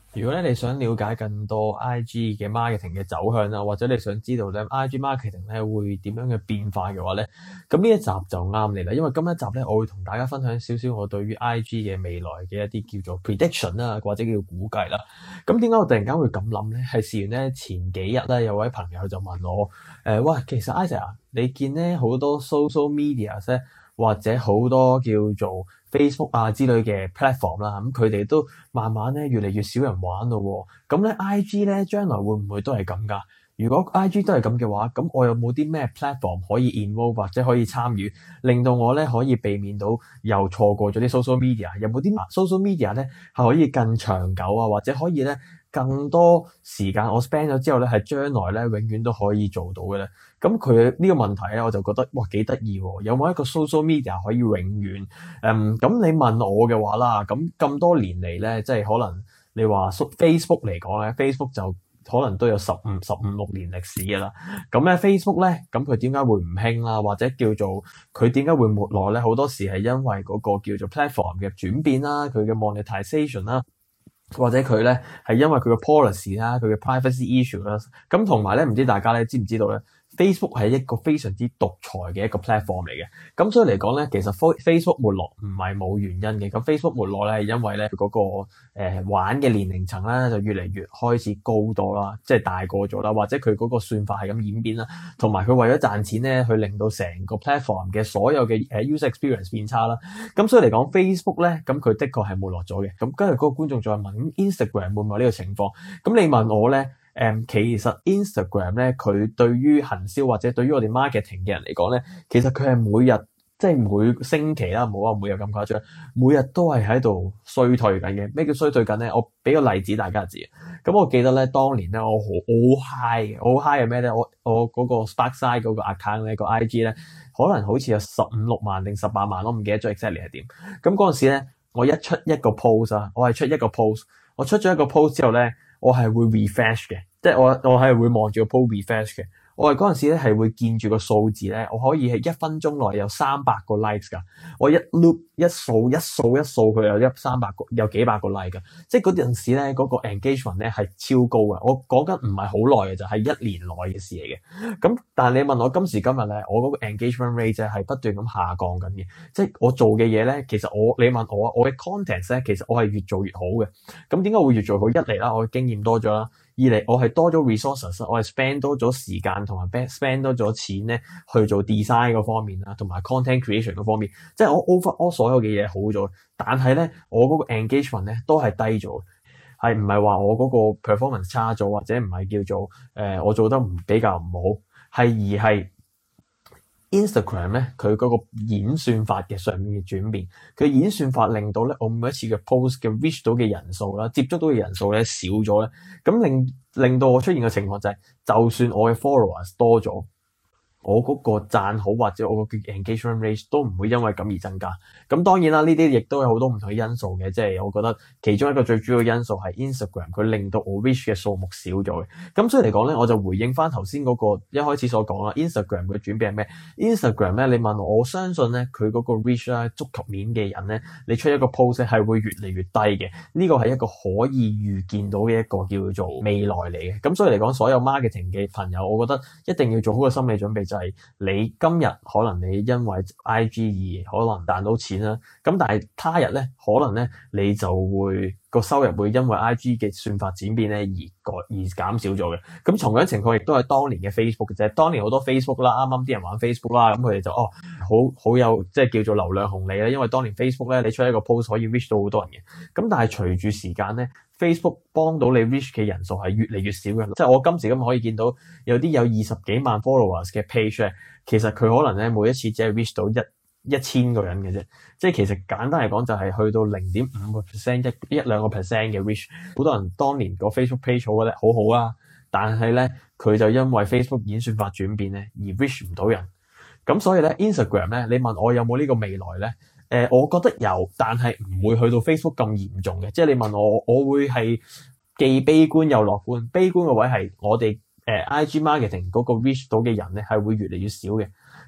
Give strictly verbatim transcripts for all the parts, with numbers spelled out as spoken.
如果咧你想了解更多 I G 嘅 marketing 嘅走向啦，或者你想知道咧 I G marketing 咧會點樣嘅變化嘅話咧，咁呢一集就啱你啦。因為今一集咧，我會同大家分享少少我對於 I G 嘅未來嘅一啲叫做 prediction 啦，或者叫估計啦。咁點解我突然間會咁諗咧？係事緣咧前幾日咧有位朋友就問我，誒、呃，喂，其實 Isaac 啊，你見咧好多 social media 咧，或者好多叫做 Facebook 啊之類嘅 platform 啦，咁佢哋都慢慢咧越嚟越少人玩咯喎。咁咧 I G 咧將來會唔會都係咁㗎？如果 I G 都係咁嘅話，咁我有冇啲咩 platform 可以 involve 或者可以參與，令到我咧可以避免到又錯過咗啲 social media？有冇啲 social media 咧係可以更長久啊，或者可以咧更多時間我 spend 咗之後咧係將來咧永遠都可以做到嘅咧？咁佢呢個問題咧，我就覺得哇幾得意喎！有冇一個 social media 可以永遠？嗯，咁你問我嘅話啦，咁咁多年嚟咧，即係可能你話 Facebook 嚟講咧，Facebook 就可能都有十五、十五六年歷史嘅啦。咁咧 Facebook 咧，咁佢點解會唔興啦？或者叫做佢點解會沒落咧？好多時係因為嗰個叫做 platform 嘅轉變啦，佢嘅 monetization 啦。或者佢咧係因為佢嘅 policy 啦，佢嘅 privacy issue 啦，咁同埋咧唔知大家咧知唔知道咧 Facebook 係一個非常之獨裁嘅一個 platform 嚟嘅，咁所以嚟講咧，其實 Facebook 沒落唔係冇原因嘅，咁 Facebook 沒落咧係因為咧嗰個、呃、玩嘅年齡層咧就越嚟越開始高多啦，即係大個咗啦，或者佢嗰個算法係咁演變啦，同埋佢為咗賺錢咧，去令到成個 platform 嘅所有嘅誒 user experience 變差啦，咁所以嚟講 Facebook 咧，咁佢的確係沒落咗嘅，咁跟住嗰個觀眾再問。咁 Instagram 會唔會呢個情況？咁你問我咧，誒、嗯，其實 Instagram 咧，佢對於行銷或者對於我哋 marketing 嘅人嚟講咧，其實佢係每日即係每星期啦，唔好話每日咁誇張，每日都係喺度衰退緊嘅。咩叫衰退緊咧？我俾個例子大家知。咁我記得咧，當年咧，我好好 high 嘅，我好 high 係咩咧？我我嗰個 Sparkside 嗰個 account 咧，個 I G 咧，可能好似有十五六萬定十八萬，我唔記得咗 exactly 係點。咁嗰陣時咧。我一出一個 post 啊，我係出一個 post，我出咗一個 post 之後咧，我係會 refresh 嘅，即係我我係會望住個 post refresh 嘅。我係嗰陣時咧係會見住個數字咧，我可以係一分鐘內有三百個 likes 噶。我一 loop 一掃一掃一掃佢有一三百個有幾百個 like 噶，即係嗰陣時咧嗰個 engagement 咧係超高嘅。我講緊唔係好耐嘅，就係一年內嘅事嚟嘅。咁但係你問我今時今日咧，我嗰個 engagement rate 咧係不斷咁下降緊嘅。即係我做嘅嘢咧，其實我你問我我嘅 content 咧，其實我係越做越好嘅。咁點解會越做好？一嚟啦，我嘅經驗多咗啦。二嚟，我係多咗 resources，我係 spend 多咗時間同埋 spend 多咗錢咧去做 design 嗰方面啦，同埋 content creation 嗰方面，即係我 overall 所有嘅嘢好咗，但係咧我嗰個 engagement 咧都係低咗，係唔係話我嗰個 performance 差咗，或者唔係叫做誒、呃、我做得唔比較唔好，係而係。Instagram 咧，佢嗰個演算法嘅上面嘅轉變，佢演算法令到咧我每一次嘅 post 嘅 reach 到嘅人數啦，接觸到嘅人數咧少咗咧，咁令令到我出現嘅情況就係、是，就算我嘅 followers 多咗。我嗰個讚好或者我個 engagement rate 都唔會因為咁而增加。咁當然啦，呢啲亦都有好多唔同嘅因素嘅，即係我覺得其中一個最主要因素係 Instagram 佢令到我 reach 嘅數目少咗嘅。咁所以嚟講咧，我就回應翻頭先嗰個一開始所講啦。Instagram 嘅轉變係咩 ？Instagram 咧，你問我，我相信咧佢嗰個 reach 啦，觸及面嘅人咧，你出一個 post 係會越嚟越低嘅。呢個係一個可以預見到嘅一個叫做未來嚟嘅。咁所以嚟講，所有 marketing 嘅朋友，我覺得一定要做好個心理準備。就係你今日可能你因為 I G 而可能賺到錢啦，咁但係他日咧可能咧你就會個收入會因為 I G 嘅算法轉變咧而改而減少咗嘅。咁同樣情況亦都係當年嘅 Facebook 嘅啫。當年好多 Facebook 啦，啱啱啲人玩 Facebook 啦，咁佢哋就哦好好有即係叫做流量紅利啦。因為當年 Facebook 咧你出一個 post 可以 reach 到好多人嘅。咁但係隨住時間咧 Facebook 幫到你 reach 嘅人數係越嚟越少嘅。即係我今時今日可以見到有啲有二十幾萬 followers 嘅 page 咧，其實佢可能咧每一次只係 reach 到一一千個人嘅啫。即係其實簡單嚟講就係去到零點五個 percent 一一兩個 percent 嘅 reach。好多人當年個 Facebook page 好咧好好啊，但係咧佢就因為 Facebook 演算法轉變咧而 reach 唔到人。咁所以咧 Instagram 咧，你問我有冇呢個未來咧？誒、呃，我覺得有，但係唔會去到 Facebook 咁嚴重嘅。即係你問我，我會係既悲觀又樂觀。悲觀嘅位係我哋誒、呃、I G marketing 嗰個 reach 到嘅人咧係會越嚟越少嘅。咁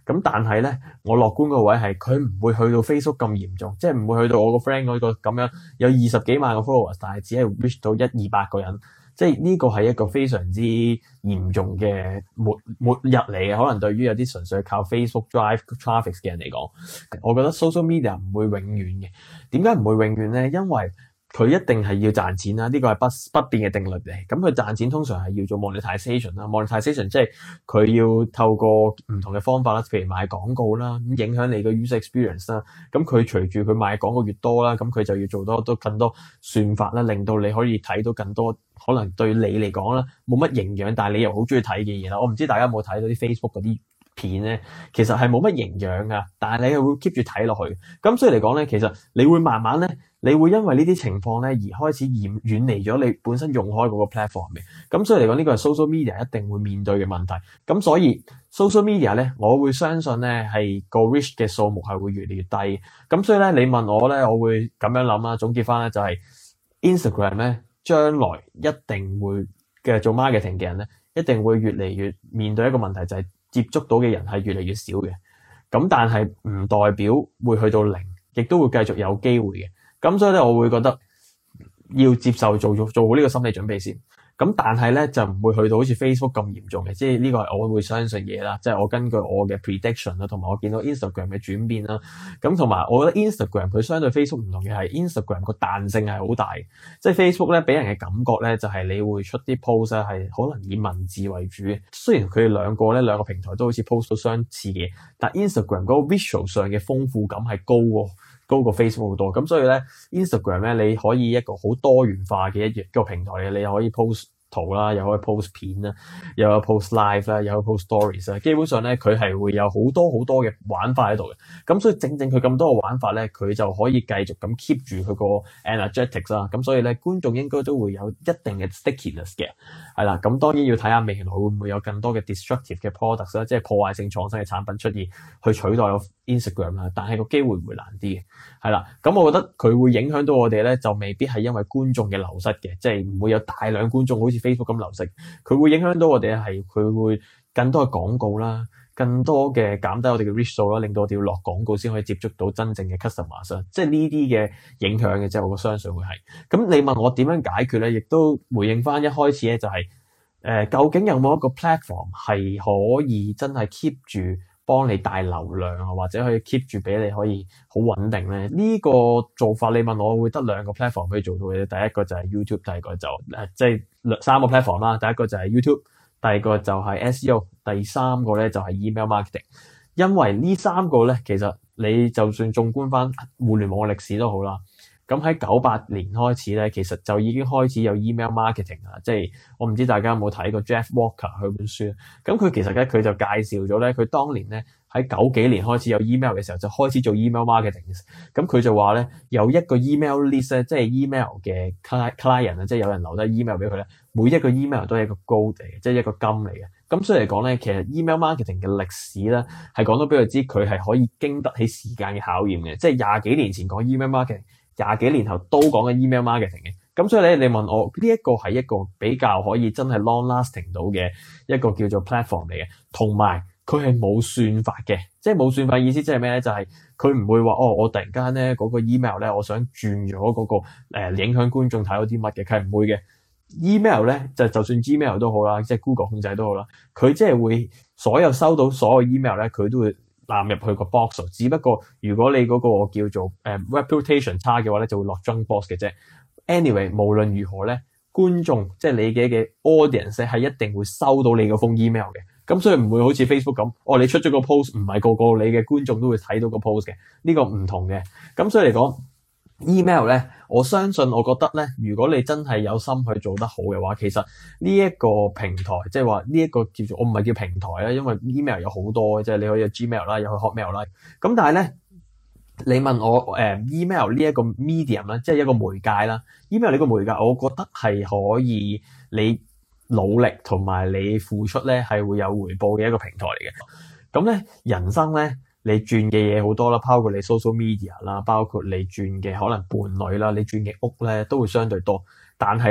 咁但係咧，我樂觀個位係佢唔會去到 Facebook 咁嚴重，即係唔會去到我個 friend 嗰個咁樣有二十幾萬個 followers，但係只係 reach 到一二百個人。即係呢個係一個非常之嚴重嘅末末日嚟嘅，可能對於有啲純粹靠 Facebook drive traffic 嘅人嚟講，我覺得 social media 唔會永遠嘅。點解唔會永遠咧？因為佢一定係要賺錢啦，呢個係不不變嘅定律嚟。咁佢賺錢通常係要做 monetization 啦，monetization 即係佢要透過唔同嘅方法啦，譬如賣廣告啦，咁影響你個 user experience 啦。咁佢隨住佢賣廣告越多啦，咁佢就要做多多更多算法啦，令到你可以睇到更多可能對你嚟講啦冇乜營養，但係你又好中意睇嘅嘢啦。我唔知大家有冇睇到啲 Facebook 嗰啲片咧，其實係冇乜營養噶，但係你係會 keep 住睇落去。咁所以嚟講咧，其實你會慢慢咧，你會因為呢啲情況咧而開始遠遠離咗你本身用開嗰個 platform 嘅。咁所以嚟講，呢個係 social media 一定會面對嘅問題。咁所以 social media 咧，我會相信咧係個 reach 嘅數目係會越嚟越低。咁所以咧，你問我咧，我會咁樣諗啦。總結翻咧就係 Instagram 咧，將來一定會嘅做 marketing 嘅人咧，一定會越嚟越面對一個問題，就係接觸到嘅人係越嚟越少嘅。咁但係唔代表會去到零，亦都會繼續有機會嘅。咁所以咧，我會覺得要接受做做做好呢個心理準備先。咁但係咧就唔會去到好似 Facebook 咁嚴重嘅，即係呢個係我會相信嘢啦，即係我根據我嘅 prediction 啦，同埋我見到 Instagram 嘅轉變啦。咁同埋我覺得 Instagram 佢相對 Facebook 唔同嘅係 Instagram 個彈性係好大，即係 Facebook 咧俾人嘅感覺咧就係你會出啲 post 咧係可能以文字為主嘅。雖然佢哋兩個咧兩個平台都好似 post 到相似嘅，但 Instagram 嗰個 visual 上嘅豐富感係高喎。高過 Facebook 好多，咁所以咧 Instagram 咧你可以一個好多元化嘅一個平台嘅，你又可以 post 圖啦，又可以 post 片啦，又有 post live 啦，又有 post stories 啦，基本上咧佢係會有好多好多嘅玩法喺度嘅。咁所以正正佢咁多嘅玩法咧，佢就可以繼續咁 keep 住佢個 energetics 啦。咁所以咧觀眾應該都會有一定嘅 stickiness 嘅，係啦。咁當然要睇下未來會唔會有更多嘅 destructive 嘅 products 啦，即係破壞性創新嘅產品出現去取代 Instagram 啦。但係個機會會難啲嘅，係啦。咁我覺得佢會影響到我哋咧，就未必係因為觀眾嘅流失嘅，即係唔會有大量觀眾好似Facebook 咁流失，佢會影響到我哋係佢會更多嘅廣告啦，更多嘅減低我哋嘅 reach 數啦，令到我哋要落廣告先可以接觸到真正嘅 customers，即係呢啲嘅影響嘅，即係我相信會係。咁你問我點樣解決咧，亦都回應翻一開始咧就係、是、誒、呃，究竟有冇一個 platform 係可以真係 keep 住幫你帶流量啊，或者可以 keep 住俾你可以好穩定咧？呢、這個做法你問我會得兩個 platform 可以做到嘅，第一個就係 YouTube， 第二個就誒即係三個 platform 啦。第一個就係 YouTube， 第二個就係 S E O， 第三個咧就係 email marketing。因為呢三個咧，其實你就算縱觀翻互聯網嘅歷史都好啦。咁喺九八年開始咧，其實就已經開始有 email marketing 啦。即係我唔知大家有冇睇過 Jeff Walker 佢本書。咁佢其實咧佢就介紹咗咧，佢當年咧喺九幾年開始有 email 嘅時候，就開始做 email marketing。咁佢就話咧，有一個 email list 咧，即係 email 嘅 client 啊，即係有人留低 email 俾佢咧，每一個 email 都係一個 gold 嚟嘅，即係一個金嚟嘅。咁所以嚟講咧，其實 email marketing 嘅歷史咧，係講到俾佢知佢係可以經得起時間嘅考驗嘅。即係廿幾年前講 email marketing，廿幾年後都講緊 email marketing 嘅。咁所以咧，你問我呢一個係一個比較可以真係 long lasting 到嘅一個叫做 platform 嚟嘅，同埋佢係冇算法嘅。即係冇算法意思即係咩咧？就係佢唔會話哦，我突然間咧嗰個 email 咧，我想轉咗嗰個誒、呃、影響觀眾睇到啲乜嘅，佢係唔會嘅。email 咧就就算 Gmail 都好啦，即係 Google 控制都好啦，佢即係會所有收到所有 email 咧，佢都會納入去個 box。只不過如果你嗰個叫做誒、呃、reputation 差嘅話咧，就會落 junk box 嘅啫。anyway， 無論如何咧，觀眾即係你嘅嘅 audience 係一定會收到你嗰封 email 嘅。咁所以唔會好似 Facebook 咁，哦你出咗個 post， 唔係個個你嘅觀眾都會睇到個 post 嘅，呢、這個唔同嘅。咁所以嚟講 email 咧，我相信我覺得咧，如果你真係有心去做得好嘅話，其實呢一個平台，即係話呢一個叫做我唔係叫平台啦，因為 email 有好多，即係你可以有 Gmail 啦，又可以 Hotmail 啦。咁但係咧，你問我誒、呃、email 呢一個 medium 啦，即係一個媒介啦 ，email 呢個媒介，我覺得係可以你努力同埋你付出咧，係會有回報嘅一個平台嚟嘅。咁咧，人生咧，你轉嘅嘢好多啦，包括你 social media 啦，包括你轉嘅可能伴侶啦，你轉嘅屋咧，都會相對多。但係咧，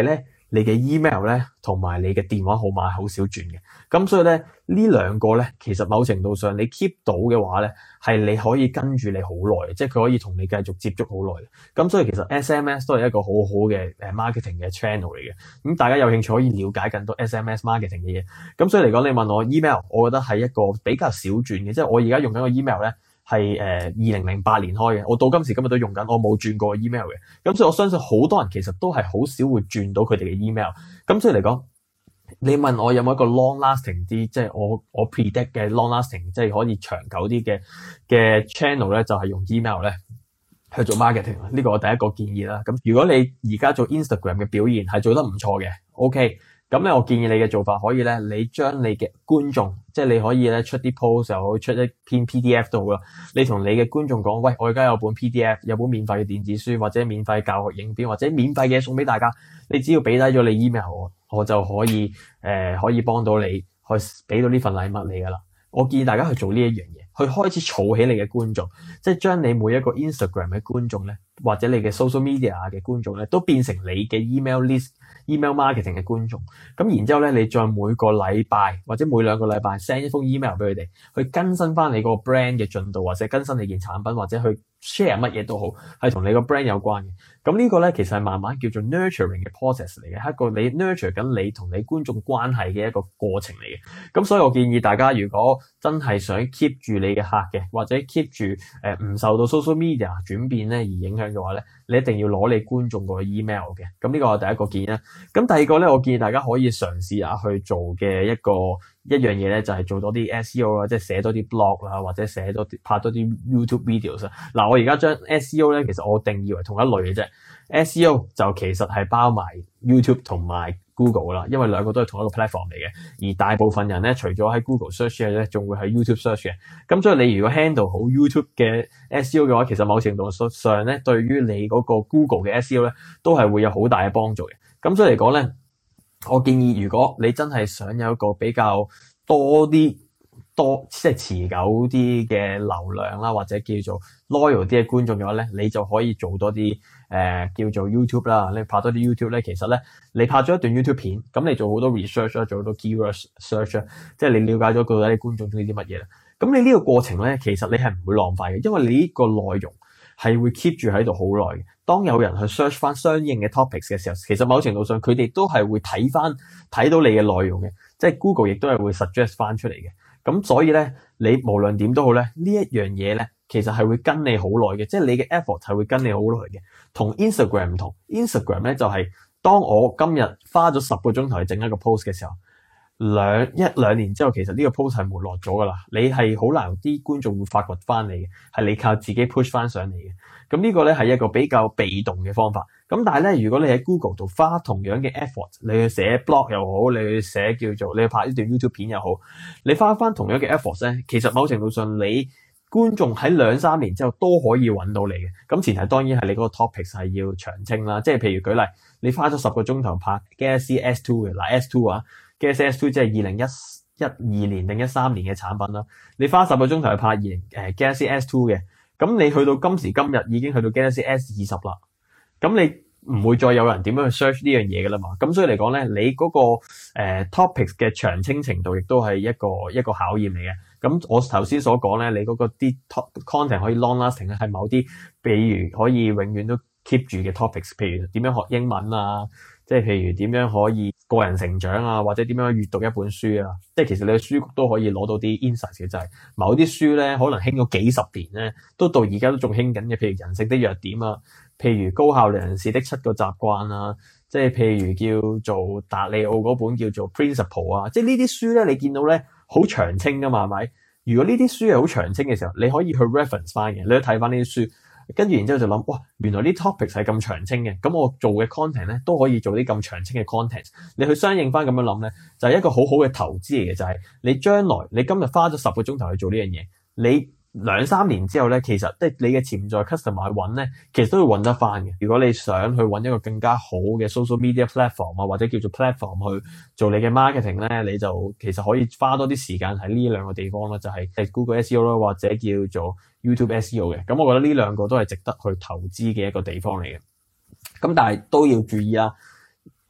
你嘅 email 咧同埋你嘅電話號碼係好少轉嘅。咁所以咧呢兩個咧，其實某程度上你 keep 到嘅話咧，係你可以跟住你好耐，即係佢可以同你繼續接觸好耐。咁所以其實 S M S 都係一個好好嘅誒 marketing 嘅 channel 嚟嘅。咁大家有興趣可以了解更多 S M S marketing 嘅嘢。咁所以嚟講，你問我 email， 我覺得係一個比較少轉嘅，即係我而家用緊個 email 咧係誒二零零八年開嘅，我到今時今日都用緊，我冇轉過 email 嘅。咁所以我相信好多人其實都係好少會轉到佢哋嘅 email。咁所以嚟講，你問我有冇一個 long lasting 啲，即係我我 predict 嘅 long lasting， 即係可以長久啲嘅嘅 channel 咧，就係用 email 咧去做 marketing。呢個我第一個建議啦。咁如果你而家做 Instagram 嘅表現係做得唔錯嘅 ，OK。咁咧，我建議你嘅做法可以咧，你將你嘅觀眾，即係你可以咧出啲 post 又好，出一篇 P D F 都好啦。你同你嘅觀眾講，喂，我而家有本 P D F， 有本免費嘅電子書，或者免費教學影片，或者免費嘅送俾大家。你只要俾低咗你 email 我，我就可以誒、呃、可以幫到你，去俾到呢份禮物你噶啦。我建議大家去做呢一樣嘢，去開始儲起你嘅觀眾，即係將你每一個 Instagram 嘅觀眾咧，或者你嘅 social media 嘅觀眾咧，都變成你嘅 email list、email marketing 嘅觀眾。咁然之後咧，你再每個禮拜或者每兩個禮拜 send 一封 email 俾佢哋，去更新翻你個 brand 嘅進度，或者更新你件產品，或者去 share 乜嘢都好，係同你個 brand 有關嘅。咁呢個咧其實係慢慢叫做 nurturing 嘅 process 嚟嘅，係一個你 nurture 緊你同你觀眾關係嘅一個過程嚟嘅。咁所以我建議大家，如果真係想 keep 住你嘅客嘅，或者 keep 住誒唔受到 social media 轉變咧而影響嘅話咧，你一定要攞你觀眾個 email 嘅。咁呢個係第一個建議啦。咁第二個咧，我建議大家可以嘗試下去做嘅一個一樣嘢咧，就係做多啲 S E O 啦，即係寫多啲 blog 啦，或者寫多啲拍多啲 YouTube videos 啊。嗱，我而家將 S E O 咧，其實我定義為同一類嘅啫。S E O 就其實係包埋 YouTube 同埋 Google 啦，因為兩個都係同一個 platform 嚟嘅。而大部分人咧，除咗喺 Google search 嘅咧，仲會喺 YouTube search 嘅。咁所以你如果 handle 好 YouTube 嘅 S E O 嘅話，其實某程度上咧，對於你嗰個 Google 嘅 S E O 咧，都係會有好大嘅幫助嘅。咁所以嚟講咧，我建議如果你真係想有一個比較多啲多即係持久啲嘅流量啦，或者叫做 loyal 啲嘅觀眾嘅話咧，你就可以做多啲誒、呃、叫做 YouTube 啦。你拍多啲 YouTube 咧，其實咧你拍咗一段 YouTube 片，咁你做好多 research 啦，做好多 keyword search 啦，即係你了解咗到底你觀眾中意啲乜嘢啦。咁你呢個過程咧，其實你係唔會浪費嘅，因為你呢個內容係會 keep 住喺度好耐嘅。當有人去 search 翻相應嘅 topics 嘅時候，其實某程度上佢哋都係會睇翻睇到你嘅內容嘅，即係 Google 亦都係會 suggest 翻出嚟嘅。咁所以咧，你無論點都好咧，呢一樣嘢咧，其實係會跟你好耐嘅，即係你嘅 effort 係會跟你好耐嘅。同 Instagram 唔同 ，Instagram 咧就係、是、當我今日花咗十個鐘頭去整一個 post 嘅時候，兩一兩年之後，其實呢個 post 係沒落咗噶啦。你係好難啲觀眾會發掘翻你嘅，係你靠自己 push 翻上嚟嘅。咁呢個咧係一個比較被動嘅方法。咁但係咧，如果你喺 Google 度花同樣嘅 effort，你去寫 blog 又好，你去寫叫做你去拍呢段 YouTube 片又好，你花翻同樣嘅 effort 咧，其實某程度上你觀眾喺兩三年之後都可以揾到你嘅。咁前提當然係你嗰個 topics 係要長青啦。即係譬如舉例，你花咗十個鐘頭拍 Galaxy S 二 嘅，嗱 S 二啊 Galaxy S 二即係二零一一二年定一三年嘅產品啦。你花十個鐘頭去拍二零誒 Galaxy S 二嘅，咁你去到今時今日已經去到 Galaxy S 二十啦。咁你唔會再有人點樣去 search 呢樣嘢㗎啦嘛。咁所以嚟講咧，你嗰、那個誒、呃、topics 嘅長青程度亦都係一個一個考驗嚟嘅。咁我頭先所講咧，你嗰個啲 content 可以 long lasting 咧，係某啲，比如可以永遠都 keep 住嘅 topics， 譬如點樣學英文啊，即係譬如點樣可以個人成長啊，或者點樣閱讀一本書啊。即係其實你嘅書局都可以攞到啲 insights 嘅，就係某啲書咧可能興咗幾十年咧，都到而家都仲興緊嘅。譬如人性的弱點啊，譬如高效人士的七個習慣啊，即係譬如叫做達利奧嗰本叫做 Principle 啊，即係呢啲書咧，你見到咧好長青噶嘛，係咪？如果呢啲書係好長青嘅時候，你可以去 reference 翻嘅，你都睇翻呢啲書，跟住然之後就諗，哇，原來啲 topics 係咁長青嘅，咁我做嘅 content 咧都可以做啲咁長青嘅 content。你去相應翻咁樣諗咧，就係一個好好嘅投資嚟嘅，就係你將來你今日花咗十個鐘頭去做呢樣嘢，你兩三年之後咧，其實即係你嘅潛在 customer 去揾咧，其實都會揾得翻嘅。如果你想去揾一個更加好嘅 social media platform 啊，或者叫做 platform 去做你嘅 marketing 咧，你就其實可以花多啲時間喺呢兩個地方啦，就係、係、Google S E O 啦，或者叫做 YouTube S E O 嘅。咁我覺得呢兩個都係值得去投資嘅一個地方嚟嘅。咁但係都要注意啊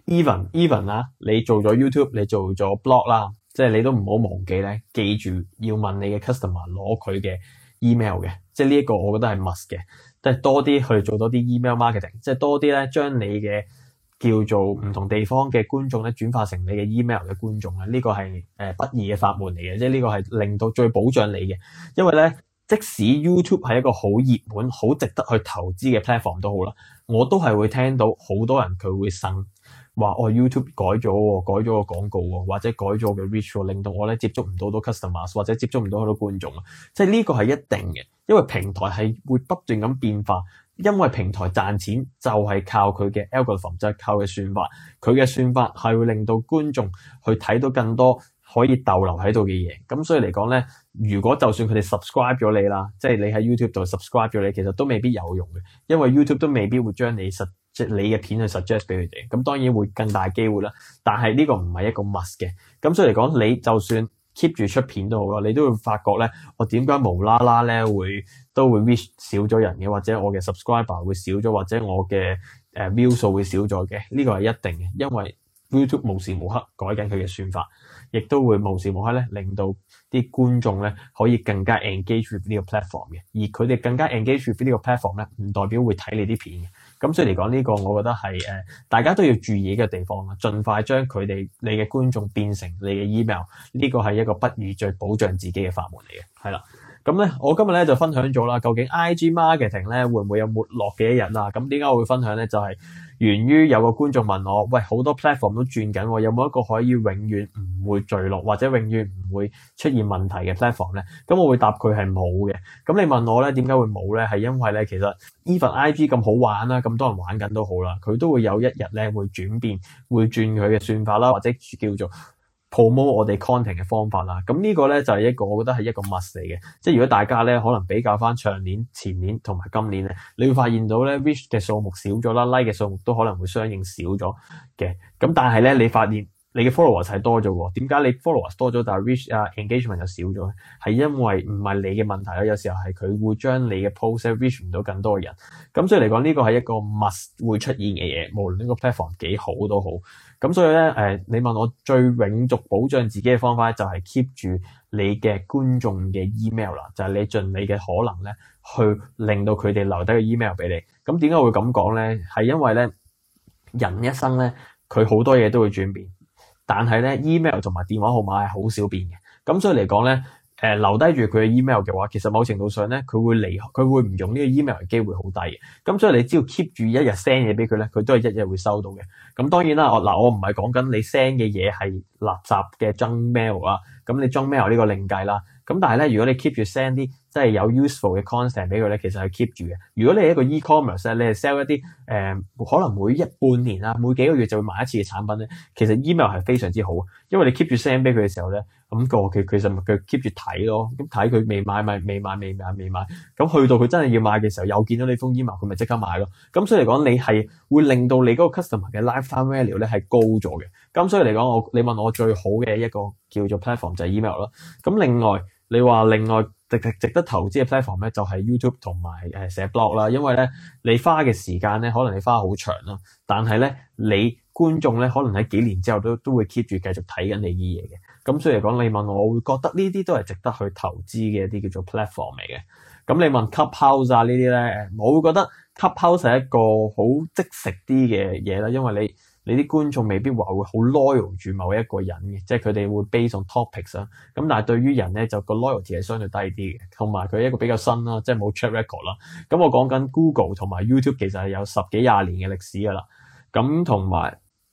even even 啦，你做咗 YouTube， 你做咗 blog 啦，即係你都唔好忘記咧，記住要問你嘅 customer 攞佢嘅 email 嘅，即係呢一個我覺得係 must 嘅，即係多啲去做多啲 email marketing， 即係多啲咧將你嘅叫做唔同地方嘅觀眾咧轉化成你嘅 email 嘅觀眾啊，呢個係誒不二嘅法門嚟嘅，即係呢個係令到最保障你嘅，因為咧即使 YouTube 係一個好熱門、好值得去投資嘅 platform 都好啦，我都係會聽到好多人佢會呻。話我、哦、YouTube 改咗喎，改咗個廣告喎，或者改咗個 reach 喎，令到我咧接觸唔到到 customers， 或者接觸唔到好多觀眾啊！即係呢個係一定嘅，因為平台係會不斷咁變化，因為平台賺錢就係靠佢嘅 algorithm， 就係靠佢嘅算法，佢嘅算法係會令到觀眾去睇到更多可以逗留喺度嘅嘢。咁所以嚟講咧，如果就算佢哋 subscribe 咗你啦，即係你喺 YouTube 度 subscribe 咗你，其實都未必有用嘅，因為 YouTube 都未必會將你實即係你嘅片去 suggest 俾佢哋，咁當然會更大機會啦。但係呢個唔係一個 must 嘅，咁所以嚟講，你就算 keep 住出片都好啦，你都會發覺咧，我點解無啦啦咧會都會 reach 少咗人嘅，或者我嘅 subscriber 會少咗，或者我嘅誒 view 數會少咗嘅，呢個係一定嘅，因為 YouTube 無時無刻改緊佢嘅算法，亦都會無時無刻咧令到啲觀眾咧可以更加 engage with 呢個 platform 嘅，而佢哋更加 engage with 呢個 platform 咧，唔代表會睇你啲片嘅。咁所以嚟講呢個，我覺得係誒、呃、大家都要注意嘅地方啦，盡快將佢哋你嘅觀眾變成你嘅 email， 呢個係一個不二最保障自己嘅法門嚟嘅，係啦。咁咧，我今日咧就分享咗啦，究竟 I G marketing 咧會唔會有沒落嘅一日啊？咁點解我會分享咧？就係、是、源於有個觀眾問我，喂，好多 platform 都轉緊，有冇一個可以永遠唔會墜落或者永遠唔會出現問題嘅 platform 咧？咁我會答佢係冇嘅。咁你問我咧點解會冇咧？係因為咧其實 even I G 咁好玩啦，咁多人玩緊都好啦，佢都會有一日咧會轉變，會轉佢嘅算法啦，或者叫做promote 我哋 content 嘅方法啦，咁呢個咧就係一個我覺得係一個 must 嚟嘅，即係如果大家咧可能比較翻上年、前年同埋今年咧，你會發現到咧 reach 嘅數目少咗啦 ，like 嘅數目都可能會相應少咗嘅，咁但係咧你發現你嘅 followers 係多咗喎，點解你 followers 多咗但係 reach 啊 engagement 就少咗咧？係因為唔係你嘅問題啦，有時候係佢會將你嘅 post reach 唔到更多嘅人，咁所以嚟講呢個係一個 must 會出現嘅嘢，無論呢個 platform 幾好都好。咁所以咧，誒、呃，你問我最永續保障自己嘅方法就係 keep 住你嘅觀眾嘅 email 啦，就係、是、你盡你嘅可能咧，去令到佢哋留低個 email 俾你。咁點解會咁講咧？係因為咧，人一生咧，佢好多嘢都會轉變，但係咧 email 同埋電話號碼係好少變嘅。咁所以嚟講咧，誒、呃、留低住佢嘅 email 嘅話，其實某程度上咧，佢會離，佢會唔用呢個 email 嘅機會好低嘅。咁所以你只要 keep 住一日 send 嘢俾佢咧，佢都係一日會收到嘅。咁當然啦，我嗱我唔係講緊你 send 嘅嘢係垃圾嘅 junk mail 啊，咁你 junk mail 呢個另計啦。咁但係咧，如果你 keep 住 send 啲即係有 useful 嘅 content 俾佢咧，其實係 keep 住嘅。如果你係一個 e-commerce 咧，你係 sell 一啲誒、呃、可能每一半年啊，每幾個月就會買一次嘅產品咧，其實 email 係非常之好，因為你 keep 住 send 俾佢嘅時候咧，咁、個佢其實佢 keep 住睇咯，咁睇佢未買咪未買未買未買，咁去到佢真係要買嘅時候，又見到你封 email，佢咪即刻買咯。咁所以嚟講，你係會令到你嗰個 customer 嘅 lifetime value 咧係高咗嘅。咁所以嚟講，我你問我最好嘅一個叫做 platform 就係 email 咯。咁另外你話另外值值值得投資嘅 platform 咧，就係 YouTube 同埋誒寫 blog 啦。因為咧你花嘅時間咧，可能你花好長啦，但係咧你觀眾咧可能喺幾年之後都都會 keep 住繼續睇緊你啲嘢嘅。咁所以嚟講，你問我，我會覺得呢啲都係值得去投資嘅一啲叫做 platform 嚟嘅。咁你問 Clubhouse 啊呢啲咧，我會覺得 Clubhouse 係一個好即食啲嘅嘢啦，因為你。你啲觀眾未必話會好 loyal 住某一個人嘅，即係佢哋會 base on topics 啦。咁但係對於人咧，就個 loyalty 係相對低啲嘅，同埋佢一個比較新啦，即係冇 track record 啦。咁我講緊 Google 同埋 YouTube 其實係有十幾廿年嘅歷史噶啦。咁同埋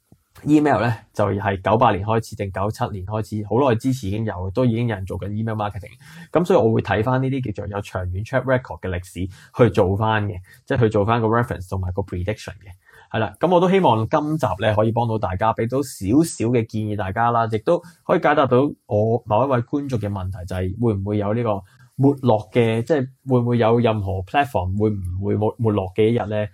email 咧就係九八年開始定九七年開始，好耐之前已經有，都已經有人做緊 email marketing。咁所以我會睇翻呢啲叫做有長遠 track record 嘅歷史去做翻嘅，即係去做翻個 reference 同埋個 prediction 嘅。係啦，咁我都希望今集咧可以幫到大家，俾到少少嘅建議大家啦，亦都可以解答到我某一位觀眾嘅問題，就係、是、會唔會有呢個沒落嘅，即係會唔會有任何 platform 會唔會沒沒落嘅一日咧？